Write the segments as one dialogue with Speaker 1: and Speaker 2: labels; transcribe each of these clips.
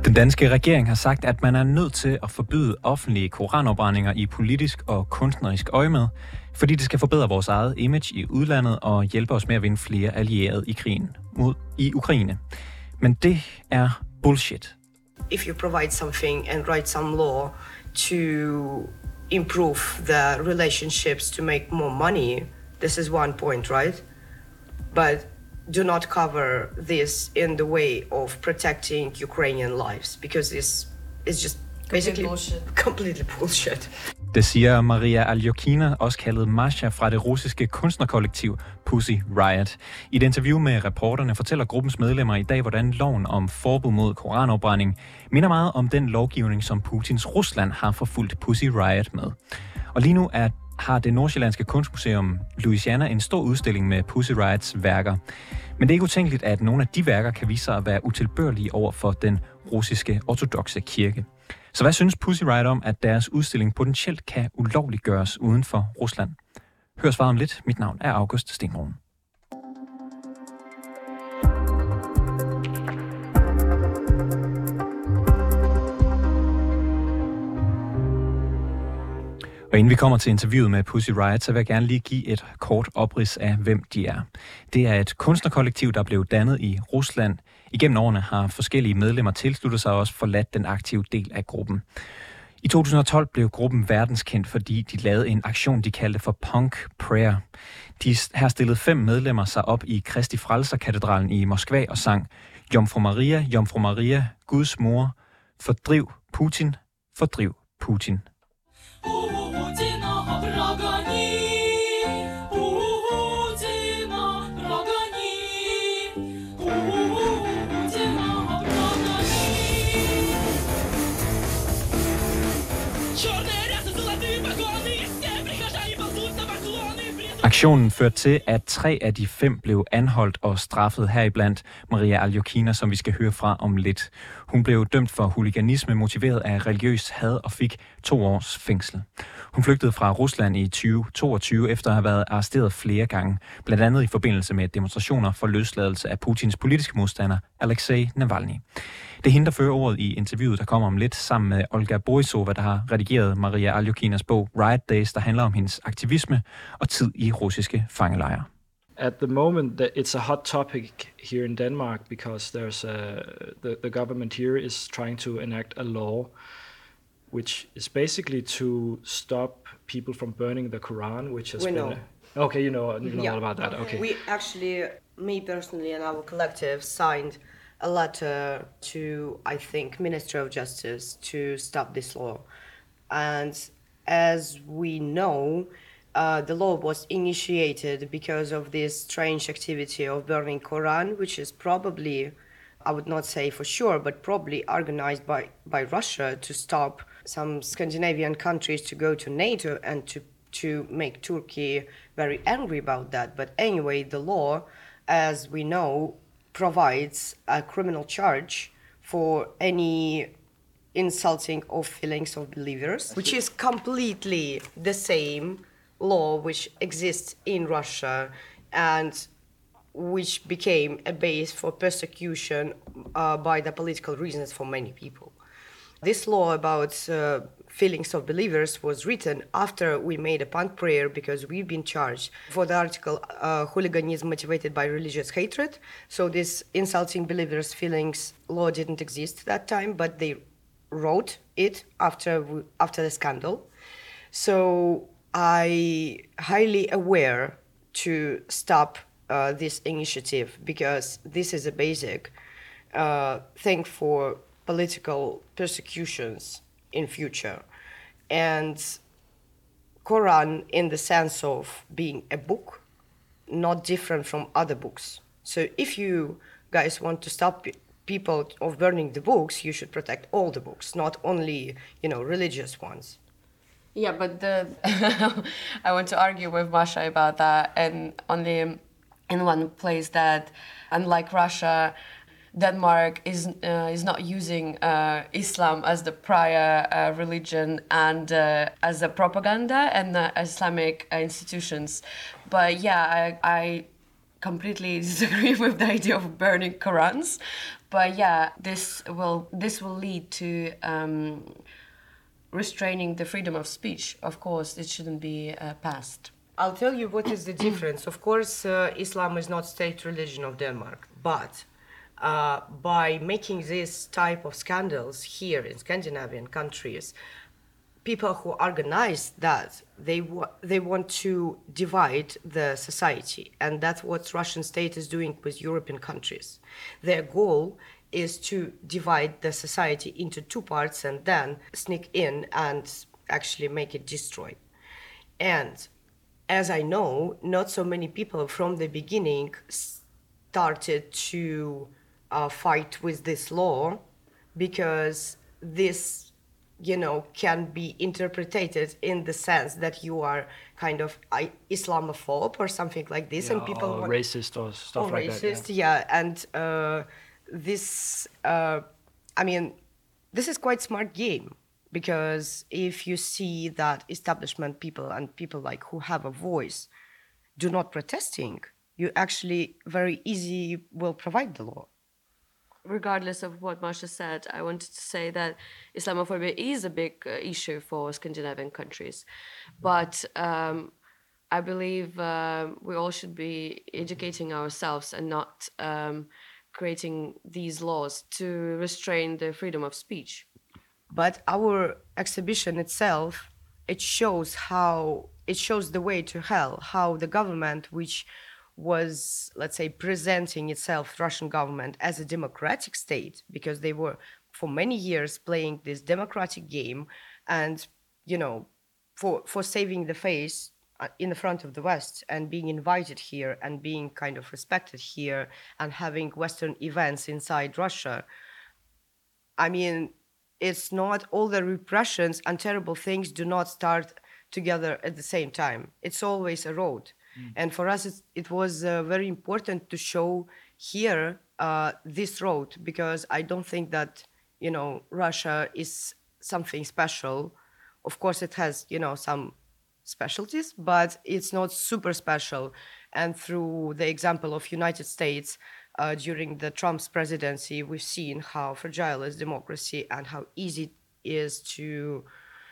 Speaker 1: Den danske regering har sagt, at man er nødt til at forbyde offentlige koranopbrændinger i politisk og kunstnerisk øjemed, fordi det skal forbedre vores eget image i udlandet og hjælpe os med at vinde flere allierede i krigen i Ukraine. Men det er bullshit.
Speaker 2: If you provide something and write some law to improve the relationships to make more money, this is one point, right? But do not cover this in the way of protecting Ukrainian lives, because this is just basically completely bullshit.
Speaker 1: Det siger Maria Aljokina, også kaldet Masha, fra det russiske kunstnerkollektiv Pussy Riot. I et interview med reporterne fortæller gruppens medlemmer i dag, hvordan loven om forbud mod koranafbrænding minder meget om den lovgivning, som Putins Rusland har forfulgt Pussy Riot med. Og lige nu har det nordsjællandske kunstmuseum Louisiana en stor udstilling med Pussy Riots værker. Men det er ikke utænkeligt, at nogle af de værker kan vise sig at være utilbørlige over for den russiske ortodokse kirke. Så hvad synes Pussy Riot om, at deres udstilling potentielt kan ulovliggøres uden for Rusland? Hør svaret om lidt. Mit navn er August Stenbroen. Og inden vi kommer til interviewet med Pussy Riot, så vil jeg gerne lige give et kort oprids af, hvem de er. Det er et kunstnerkollektiv, der blev dannet i Rusland. Igennem årene har forskellige medlemmer tilsluttet sig og også forladt den aktive del af gruppen. I 2012 blev gruppen verdenskendt, fordi de lavede en aktion, de kaldte for Punk Prayer. Her stillede 5 medlemmer sig op i Kristi Frelser-katedralen i Moskva og sang Jomfru Maria, Guds mor, fordriv Putin, fordriv Putin. Aktionen førte til, at 3 af de 5 blev anholdt og straffet, heriblandt Maria Aljokina, som vi skal høre fra om lidt. Hun blev dømt for huliganisme motiveret af religiøs had og fik 2 års fængsel. Hun flygtede fra Rusland i 2022 efter at have været arresteret flere gange, blandt andet i forbindelse med demonstrationer for løsladelse af Putins politiske modstander, Alexei Navalny. Det er hende, der fører ordet i interviewet, der kommer om lidt, sammen med Olga Borisova, der har redigeret Maria Aljokinas bog Riot Days, der handler om hendes aktivisme og tid i russiske fangelejre.
Speaker 3: At the moment, it's a hot topic here in Denmark because there's the government here is trying to enact a law which is basically to stop people from burning the Quran, which has Okay, you know all about that. Okay.
Speaker 2: We actually, me personally and our collective signed a letter to, I think, Ministry of Justice to stop this law. And as we know, the law was initiated because of this strange activity of burning Quran, which is probably, I would not say for sure, but probably organized by Russia to stop some Scandinavian countries to go to NATO and to make Turkey very angry about that. But anyway, the law, as we know, provides a criminal charge for any insulting of feelings of believers, which is completely the same law which exists in Russia and which became a base for persecution by the political reasons for many people. This law about feelings of believers was written after we made a punk prayer because we've been charged for the article hooliganism motivated by religious hatred. So this insulting believers' feelings law didn't exist at that time, but they wrote it after the scandal. So I highly aware to stop this initiative because this is a basic thing for political persecutions in future. And Quran in the sense of being a book, not different from other books. So if you guys want to stop people of burning the books, you should protect all the books, not only, religious ones.
Speaker 4: Yeah, but I want to argue with Masha about that, and only in one place that, unlike Russia, Denmark is not using Islam as the prior religion and as a propaganda and Islamic institutions. But yeah, I completely disagree with the idea of burning Qurans. But yeah, this will lead to restraining the freedom of speech. Of course, it shouldn't be passed.
Speaker 2: I'll tell you what is the difference. Of course, Islam is not state religion of Denmark, but by making this type of scandals here in Scandinavian countries, people who organize that, they want to divide the society, and that's what Russian state is doing with European countries. Their goal is to divide the society into two parts and then sneak in and actually make it destroy. And as I know, not so many people from the beginning started to fight with this law, because this, can be interpreted in the sense that you are kind of Islamophobe or something like this,
Speaker 3: yeah,
Speaker 2: and people
Speaker 3: or racist or stuff like that.
Speaker 2: Racist, yeah. And this, this is quite smart game, because if you see that establishment people and people like who have a voice do not protesting, you actually very easy will provide the law.
Speaker 4: Regardless of what Masha said, I wanted to say that Islamophobia is a big issue for Scandinavian countries. But I believe we all should be educating ourselves and not creating these laws to restrain the freedom of speech.
Speaker 2: But our exhibition itself, it shows the way to hell, how the government, which was, let's say, presenting itself, Russian government, as a democratic state, because they were for many years playing this democratic game and, for saving the face in the front of the West and being invited here and being kind of respected here and having Western events inside Russia. It's not all the repressions and terrible things do not start together at the same time. It's always a road. And for us, it was very important to show here this road, because I don't think that, Russia is something special. Of course, it has, some specialties, but it's not super special. And through the example of United States, during the Trump's presidency, we've seen how fragile is democracy and how easy it is to,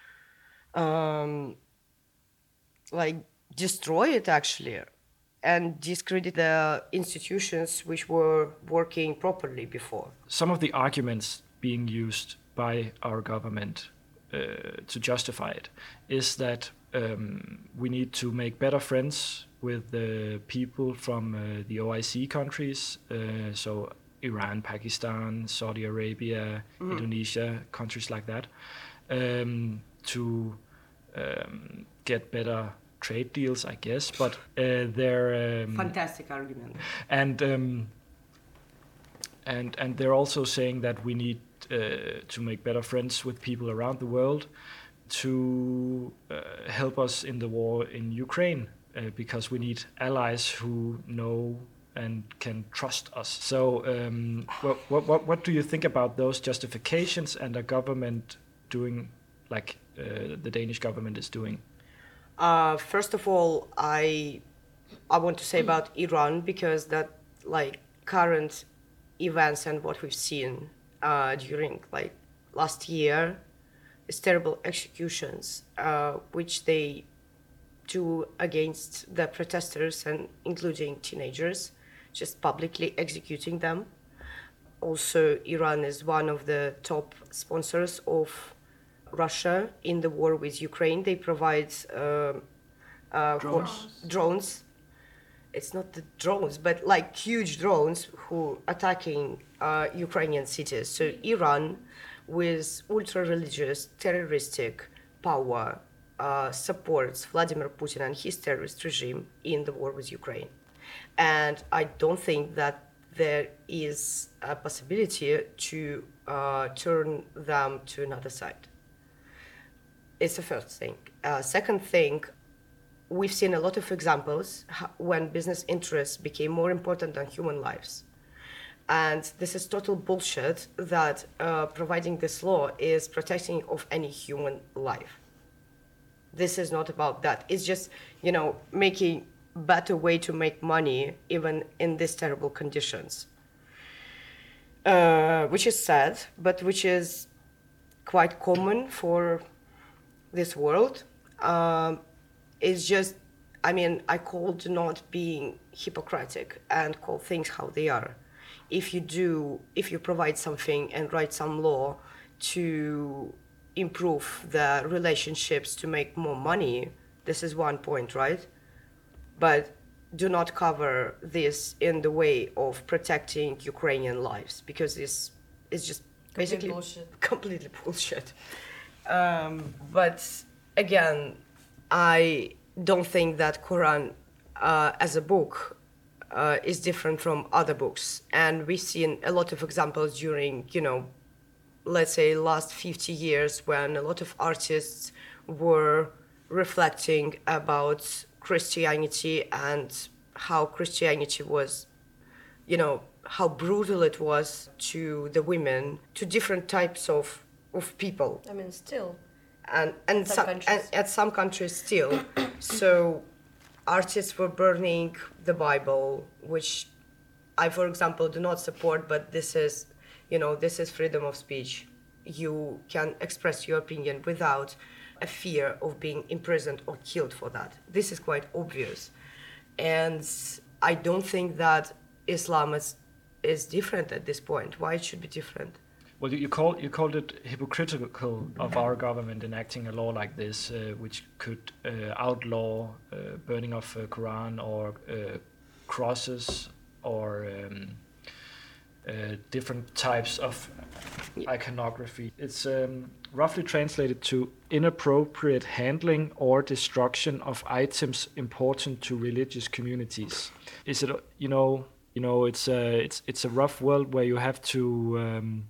Speaker 2: destroy it actually, and discredit the institutions which were working properly before.
Speaker 3: Some of the arguments being used by our government to justify it is that we need to make better friends with the people from the OIC countries, so Iran, Pakistan, Saudi Arabia, Indonesia, countries like that, to get better trade deals, I guess, but they're
Speaker 2: fantastic argument.
Speaker 3: And they're also saying that we need to make better friends with people around the world to help us in the war in Ukraine, because we need allies who know and can trust us. So, what do you think about those justifications and a government doing like the Danish government is doing?
Speaker 2: First of all, I want to say about Iran, because that current events and what we've seen during last year is terrible executions which they do against the protesters, and including teenagers, just publicly executing them. Also, Iran is one of the top sponsors of Russia in the war with Ukraine. They provide drones. It's not the drones, but huge drones who attacking Ukrainian cities. So Iran, with ultra-religious, terroristic power, supports Vladimir Putin and his terrorist regime in the war with Ukraine. And I don't think that there is a possibility to turn them to another side. It's the first thing. Second thing, we've seen a lot of examples when business interests became more important than human lives. And this is total bullshit that providing this law is protecting of any human life. This is not about that. It's just, making better way to make money even in these terrible conditions. which is sad, but which is quite common for this world. It's just, I mean, I called not being hypocritic and call things how they are. If you provide something and write some law to improve the relationships to make more money, this is one point, right? But do not cover this in the way of protecting Ukrainian lives, because this is just basically completely bullshit. But again, I don't think that Quran as a book is different from other books. And we've seen a lot of examples during, let's say last 50 years when a lot of artists were reflecting about Christianity and how Christianity was, how brutal it was to the women, to different types of people.
Speaker 4: I mean, still.
Speaker 2: And at some countries still. So artists were burning the Bible, which I, for example, do not support, but this is freedom of speech. You can express your opinion without a fear of being imprisoned or killed for that. This is quite obvious. And I don't think that Islam is different at this point. Why it should be different?
Speaker 3: Well, you called it hypocritical of our government enacting a law like this, which could outlaw burning of Quran or crosses or different types of iconography. It's roughly translated to inappropriate handling or destruction of items important to religious communities. Is it it's a rough world where you have to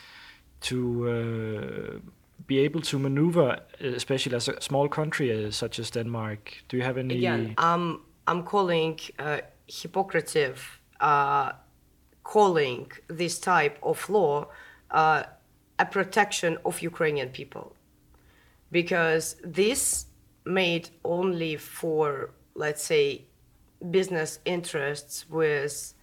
Speaker 3: be able to maneuver, especially as a small country such as Denmark. Do you have any?
Speaker 2: Again, I'm calling hypocrite, calling this type of law a protection of Ukrainian people, because this made only for, let's say, business interests with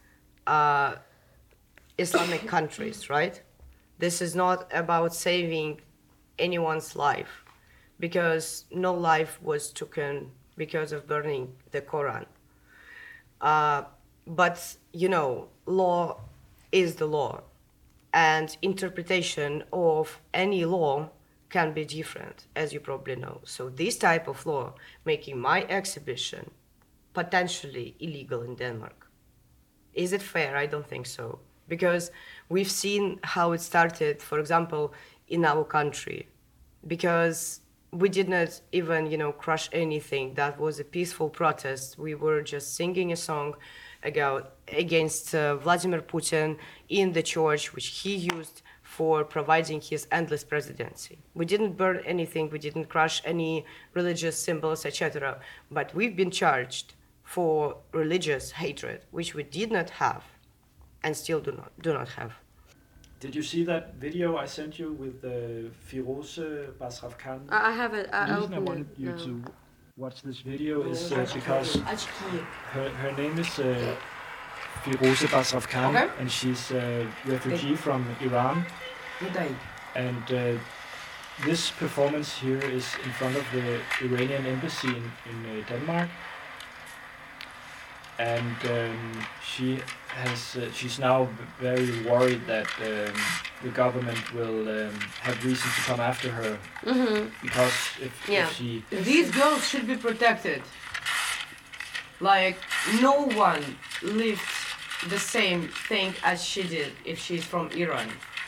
Speaker 2: Islamic countries, right? This is not about saving anyone's life, because no life was taken because of burning the Quran. But, law is the law, and interpretation of any law can be different, as you probably know. So this type of law making my exhibition potentially illegal in Denmark. Is it fair? I don't think so. Because we've seen how it started, for example, in our country. Because we did not even, crush anything. That was a peaceful protest. We were just singing a song against Vladimir Putin in the church, which he used for providing his endless presidency. We didn't burn anything. We didn't crush any religious symbols, etc. But we've been charged for religious hatred, which we did not have and still do not have.
Speaker 3: Did you see that video I sent you with Firoze Basrafkan?
Speaker 4: I have it.
Speaker 3: The reason I wanted you to watch this video is because her name is Firoze Basrafkan, okay. And she's a refugee from Iran. And this performance here is in front of the Iranian embassy in Denmark. And she's now very worried that the government will have reason to come after her, because if she...
Speaker 2: These girls should be protected. Like, no one lived the same thing as she did if she's from Iran.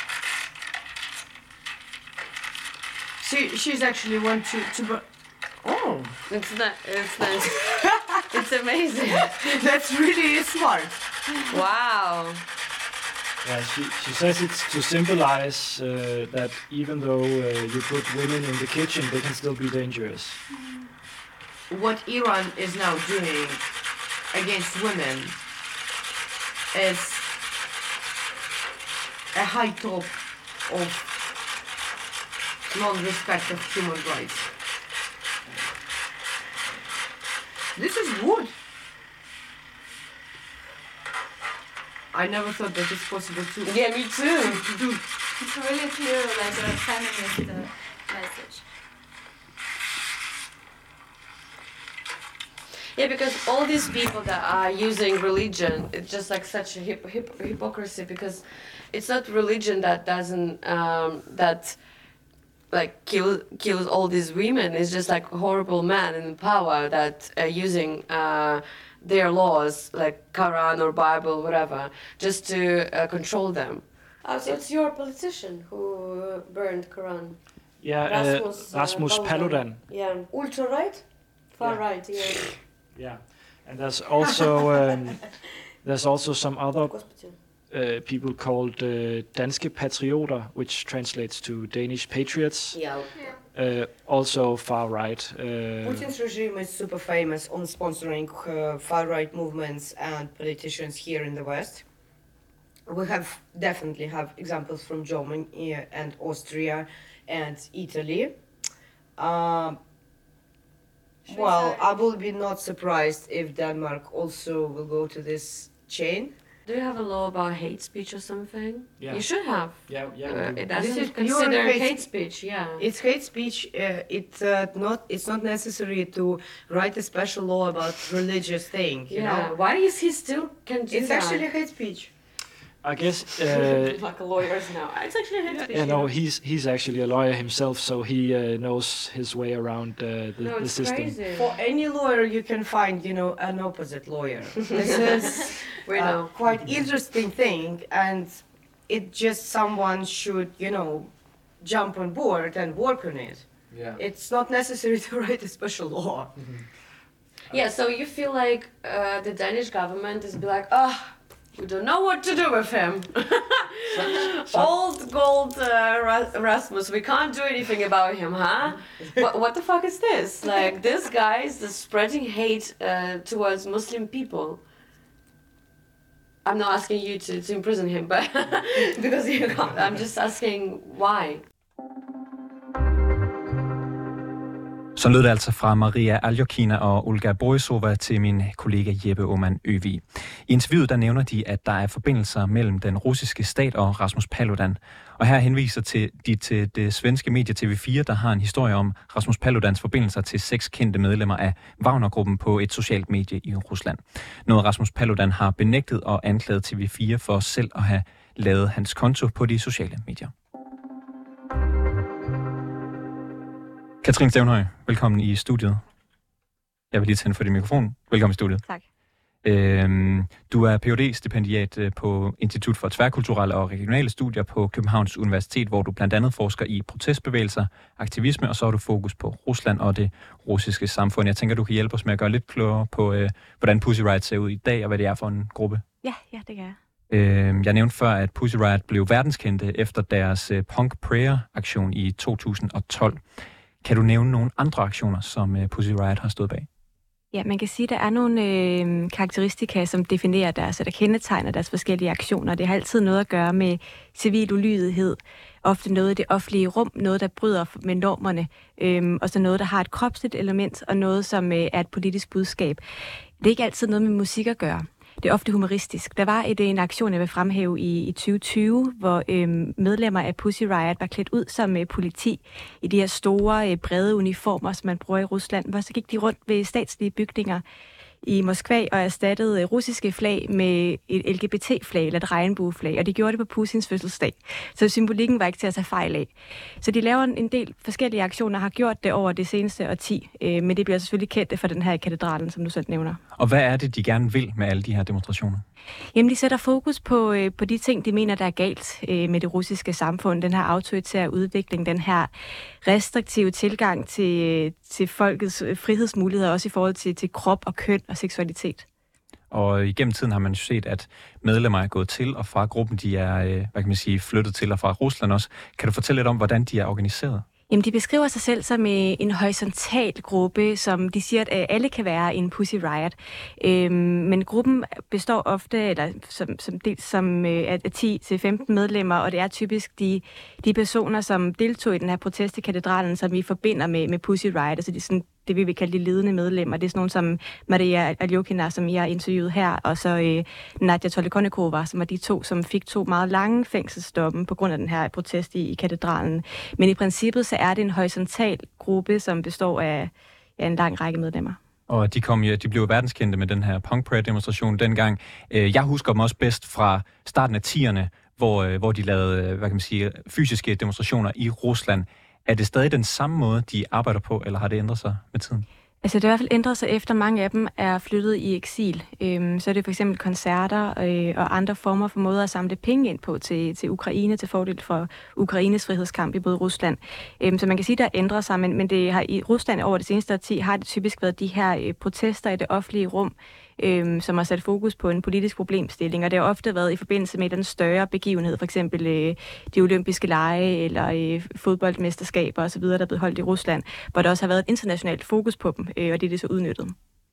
Speaker 2: She's actually want to oh,
Speaker 4: it's nice. It's amazing.
Speaker 2: That's really smart.
Speaker 4: Wow.
Speaker 3: Yeah, she says it's to symbolize that even though you put women in the kitchen, they can still be dangerous.
Speaker 2: What Iran is now doing against women is a high top of non-respect of human rights. This is good. I never thought that it's possible to.
Speaker 4: Yeah, me too.
Speaker 5: It's really clear, like a feminist message.
Speaker 4: Yeah, because all these people that are using religion, it's just like such a hypocrisy, because it's not religion that doesn't that like kills all these women. It's just like horrible men in power that are using their laws, like Quran or Bible, whatever, just to control them. Oh, so it's your politician who burned Quran?
Speaker 3: Yeah, Rasmus Paludan.
Speaker 4: Yeah, ultra right, far right. Yeah.
Speaker 3: Yeah, and there's also some other people called Danske Patrioter, which translates to Danish patriots.
Speaker 4: Yeah.
Speaker 3: Also far right.
Speaker 2: Putin's regime is super famous on sponsoring far-right movements and politicians here in the West. We definitely have examples from Germany and Austria and Italy. Well, I will be not surprised if Denmark also will go to this chain.
Speaker 4: Do you have a law about hate speech or something?
Speaker 3: Yeah.
Speaker 4: You should have.
Speaker 3: Yeah.
Speaker 4: It doesn't
Speaker 2: This is
Speaker 4: consider
Speaker 2: pure
Speaker 4: hate speech. Yeah.
Speaker 2: It's hate speech. It's not necessary to write a special law about religious thing. You know?
Speaker 4: Why is he still can do
Speaker 2: It's
Speaker 4: that?
Speaker 2: actually hate speech.
Speaker 3: I guess.
Speaker 4: Like lawyers now. It's actually hate speech.
Speaker 3: Yeah, no, he's actually a lawyer himself, so he knows his way around the
Speaker 4: it's
Speaker 3: system.
Speaker 4: crazy.
Speaker 2: For any lawyer, you can find, an opposite lawyer. This is
Speaker 4: We know.
Speaker 2: quite interesting thing, and it just someone should, jump on board and work on it.
Speaker 3: Yeah.
Speaker 2: It's not necessary to write a special law.
Speaker 4: Yeah. So you feel like the Danish government is be like, we don't know what to do with him. Old gold Rasmus, we can't do anything about him, huh? What the fuck is this? Like, this guy is just spreading hate towards Muslim people. I'm not asking you to imprison him, but because you can't. I'm just asking why.
Speaker 1: Så lød det altså fra Maria Aljokina og Olga Borisova til min kollega Jeppe Aumann Øvig. I interviewet der nævner de, at der er forbindelser mellem den russiske stat og Rasmus Paludan. Og her henviser de til det svenske medie TV4, der har en historie om Rasmus Paludans forbindelser til 6 kendte medlemmer af Wagner-gruppen på et socialt medie i Rusland. Noget Rasmus Paludan har benægtet og anklaget TV4 for selv at have lavet hans konto på de sociale medier. Katrine Stævnhøj, velkommen i studiet. Jeg vil lige tænde for din mikrofon. Velkommen i studiet.
Speaker 6: Tak.
Speaker 1: Du er Ph.D.-stipendiat på Institut for Tværkulturelle og Regionale Studier på Københavns Universitet, hvor du blandt andet forsker i protestbevægelser, aktivisme, og så har du fokus på Rusland og det russiske samfund. Jeg tænker, du kan hjælpe os med at gøre lidt klogere på, hvordan Pussy Riot ser ud i dag, og hvad det er for en gruppe.
Speaker 6: Ja, det kan jeg.
Speaker 1: Jeg nævnte før, at Pussy Riot blev verdenskendte efter deres Punk Prayer-aktion i 2012. Kan du nævne nogle andre aktioner, som Pussy Riot har stået bag?
Speaker 6: Ja, man kan sige, at der er nogle karakteristika, som definerer deres, eller kendetegner deres forskellige aktioner. Det har altid noget at gøre med civil ulydighed, ofte noget i det offentlige rum, noget, der bryder med normerne, og så noget, der har et kropsligt element, og noget, som er et politisk budskab. Det er ikke altid noget med musik at gøre. Det er ofte humoristisk. Der var en aktion, jeg vil fremhæve i 2020, hvor medlemmer af Pussy Riot var klædt ud som politi i de her store, brede uniformer, som man bruger i Rusland. Hvor så gik de rundt ved statslige bygninger i Moskva og erstattede russiske flag med et LGBT-flag eller et regnbueflag, og de gjorde det på Putins fødselsdag. Så symbolikken var ikke til at tage fejl af. Så de laver en del forskellige aktioner og har gjort det over det seneste årti, men det bliver selvfølgelig kendt for den her katedralen, som du selv nævner.
Speaker 1: Og hvad er det, de gerne vil med alle de her demonstrationer?
Speaker 6: Jamen, de sætter fokus på de ting, de mener, der er galt med det russiske samfund. Den her autoritære udvikling, den her restriktive tilgang til folkets frihedsmuligheder, også i forhold til krop og køn og seksualitet. Og
Speaker 1: igennem tiden har man jo set, at medlemmer er gået til og fra gruppen. De er, flyttet til og fra Rusland også. Kan du fortælle lidt om, hvordan de er organiseret?
Speaker 6: Jamen, de beskriver sig selv som en horisontal gruppe, som de siger, at alle kan være en Pussy Riot. Men gruppen består ofte, eller som af 10-15 medlemmer, og det er typisk de personer, som deltog i den her protest i katedralen, som vi forbinder med Pussy Riot. Altså det det vi vil kalde de ledende medlemmer. Det er sådan nogle som Maria Aljokina, som I har interviewet her, og så Nadia Tolikonnikova, som var de to, som fik 2 meget lange fængselsdomme på grund af den her protest i katedralen. Men i princippet så er det en horisontal gruppe, som består af en lang række medlemmer.
Speaker 1: Og de blev verdenskendte med den her Punk Prayer-demonstration dengang. Jeg husker dem også bedst fra starten af 10'erne, hvor de lavede fysiske demonstrationer i Rusland. Er det stadig den samme måde, de arbejder på, eller har det ændret sig med tiden?
Speaker 6: Altså det har i hvert fald ændret sig efter mange af dem er flyttet i eksil. Så er det for eksempel koncerter og andre former for måder at samle penge ind på til Ukraine, til fordel for Ukraines frihedskamp i både Rusland. Så man kan sige, der ændrer sig, men det har i Rusland over det seneste årti har det typisk været de her protester i det offentlige rum, som har sat fokus på en politisk problemstilling, og det har ofte været i forbindelse med den større begivenhed, for eksempel de olympiske lege eller fodboldmesterskaber osv., der er blevet holdt i Rusland, hvor der også har været et internationalt fokus på dem, og det er så udnyttet.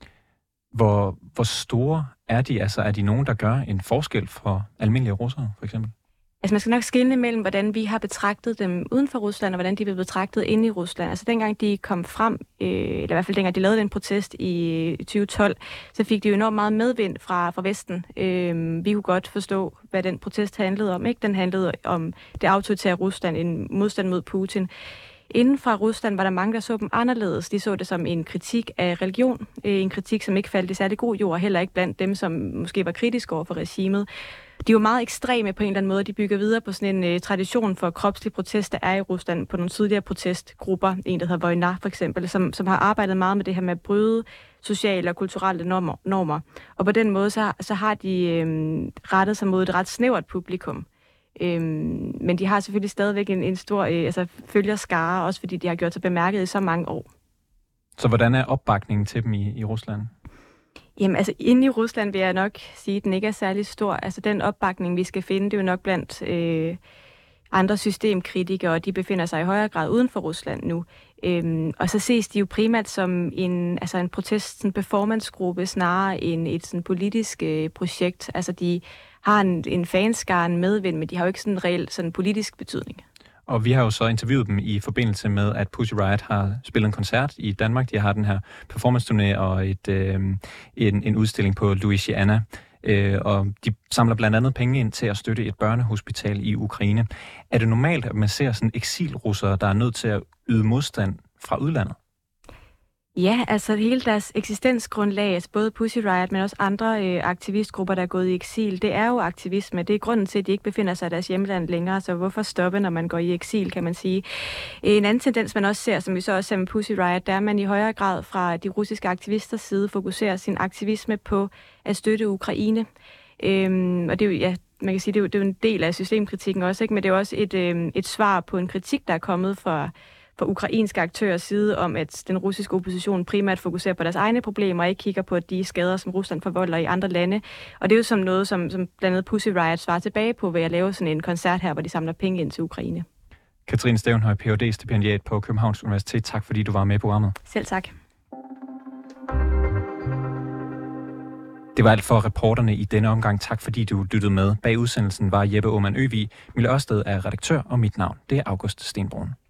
Speaker 1: Hvor store er de? Altså er de nogen, der gør en forskel for almindelige russere, for eksempel?
Speaker 6: Altså man skal nok skelne mellem, hvordan vi har betragtet dem uden for Rusland, og hvordan de blev betragtet inde i Rusland. Altså dengang de kom frem, eller i hvert fald dengang de lavede den protest i 2012, så fik de jo enormt meget medvind fra Vesten. Vi kunne godt forstå, hvad den protest handlede om. Ikke? Den handlede om det autoritære Rusland, en modstand mod Putin. Inden fra Rusland var der mange, der så dem anderledes. De så det som en kritik af religion. En kritik, som ikke faldt i særlig god jord, heller ikke blandt dem, som måske var kritiske over for regimet. De var meget ekstreme på en eller anden måde. De bygger videre på sådan en tradition for kropslig protest, der er i Rusland på nogle tidligere protestgrupper. En, der hedder Vojna for eksempel, som har arbejdet meget med det her med at bryde sociale og kulturelle normer. Og på den måde, så har de rettet sig mod et ret snævert publikum. Men de har selvfølgelig stadigvæk en stor følgerskare, også fordi de har gjort sig bemærket i så mange år.
Speaker 1: Så hvordan er opbakningen til dem i Rusland?
Speaker 6: Jamen altså inde i Rusland vil jeg nok sige, at den ikke er særlig stor. Altså den opbakning, vi skal finde, det er jo nok blandt andre systemkritikere, og de befinder sig i højere grad uden for Rusland nu. Og så ses de jo primært som en protest, en performancegruppe, snarere end et sådan politisk projekt. Altså de har en fanskare, en medvind, men de har jo ikke sådan en reel sådan politisk betydning.
Speaker 1: Og vi har jo så interviewet dem i forbindelse med, at Pussy Riot har spillet en koncert i Danmark. De har den her performance-turné og en udstilling på Louisiana. Og de samler blandt andet penge ind til at støtte et børnehospital i Ukraine. Er det normalt, at man ser sådan eksilrussere, der er nødt til at yde modstand fra udlandet?
Speaker 6: Ja, altså hele deres eksistensgrundlag, altså både Pussy Riot, men også andre aktivistgrupper, der er gået i eksil, det er jo aktivisme. Det er grunden til, at de ikke befinder sig i deres hjemland længere, så hvorfor stoppe, når man går i eksil, kan man sige. En anden tendens, man også ser, som vi så også ser med Pussy Riot, der er, at man i højere grad fra de russiske aktivisters side fokuserer sin aktivisme på at støtte Ukraine. Og det er jo, ja, man kan sige, det er jo en del af systemkritikken også, ikke? Men det er også et svar på en kritik, der er kommet fra ukrainske aktørers side om, at den russiske opposition primært fokuserer på deres egne problemer og ikke kigger på de skader, som Rusland forvolder i andre lande. Og det er jo som noget, som blandt andet Pussy Riot svarer tilbage på ved at lave sådan en koncert her, hvor de samler penge ind til Ukraine.
Speaker 1: Katrine Stævnhøj, Ph.D.-stipendiat på Københavns Universitet. Tak fordi du var med i programmet.
Speaker 6: Selv tak.
Speaker 1: Det var alt for reporterne i denne omgang. Tak fordi du lyttede med. Bag udsendelsen var Jeppe Aumann Øvig. Mille Ørsted er redaktør, og mit navn det er August Stenbrun.